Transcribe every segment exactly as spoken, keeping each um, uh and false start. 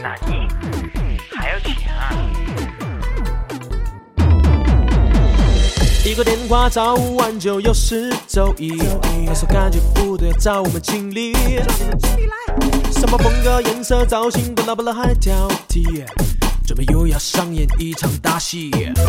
哪尼？还要钱啊？ 一个电话找五万就有十周一，那时候感觉不对，找我们经理。什么风格、颜色、造型，不拉不拉还挑剔，准备又要上演一场大戏。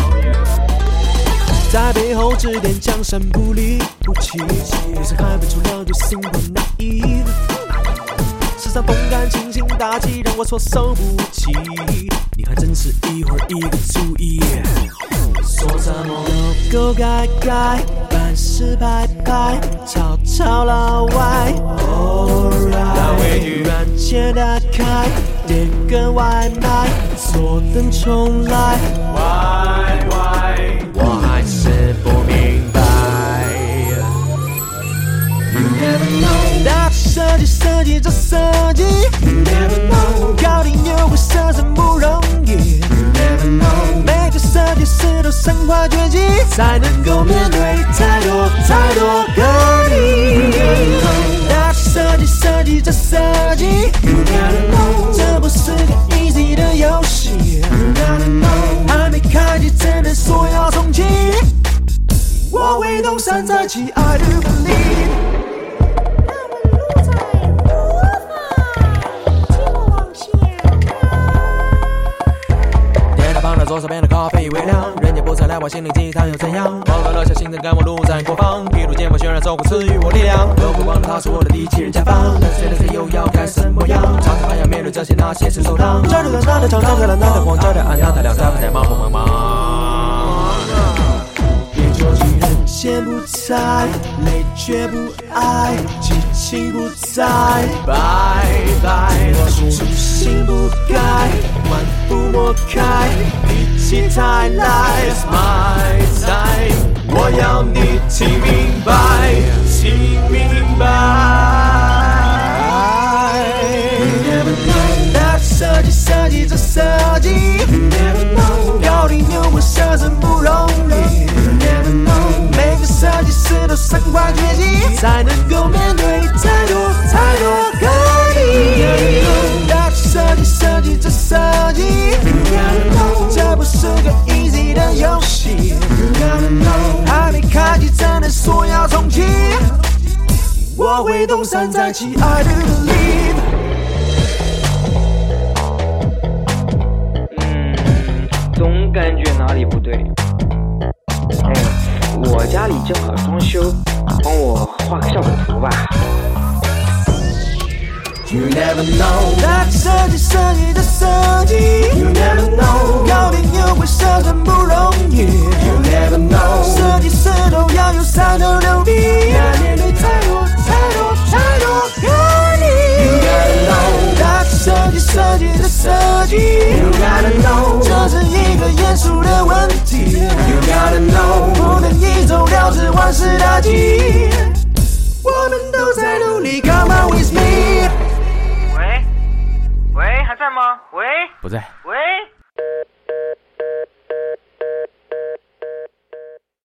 在背后指点江山不离不弃，女生还分出两句 simple naive， 时尚动感清新大气让我措手不及，你还真是一会儿一个主意。说什么狗狗改改，办事拍拍，吵吵老外 Alright， 软件打开，点个外卖，坐等重来 Why Why， 我还是不明白。You never know， 大设计设计这设计 You never know， 搞定优惠设置不容易 You never know， 每个设计师都身怀绝技，才能够面对太多太多个你。大设计设计这设计 You never know， 这不是个 easy 的游戏 You never know， 还没开启只能说要重启，我会东山再起 I do believe。左手边的咖啡已微凉，人家不再来往心灵鸡汤又怎样？忘了留下心疼感，我路在过方，披露剑锋渲染走过赐予我力量，都不忘了他是我的第七人甲方。但随着谁又要开什么样？常常还要面对这些那些是受伤。这里的那的长，这里的那的光，这里暗那的亮，在不在忙不忙忙？别着急，人先不在，累却不爱，激情不在，拜拜。我初心不改，万不抹开，一起太来 It's my time， 我要你听明白，听明白。You never know， 大设计设计这设计 You never know， 搞定优惠设置不容易 You never know， 每个设计师都身怀绝技，才能够面对太多太多个你。大设计设计这设计 You never know， 这不是个 easy 的游戏 You never know， 还没开启真的说要重启，我会东山再起 I do believe。 嗯，总感觉哪里不对。哎，我家里正好装修，帮我画个效果图吧。 You never know， 大设计设计的设计 You never know， 搞定优惠设置不容易 You never know， 设计师都要有三头六臂，要面对太多太多太多个你 You never know， 大设计设计的设计 You never know， 这是一个严肃的问题 You never know， 不能一走了之万事大吉，我们都在努力 Come on with me。 喂，喂，还在吗？喂， 不在。 喂。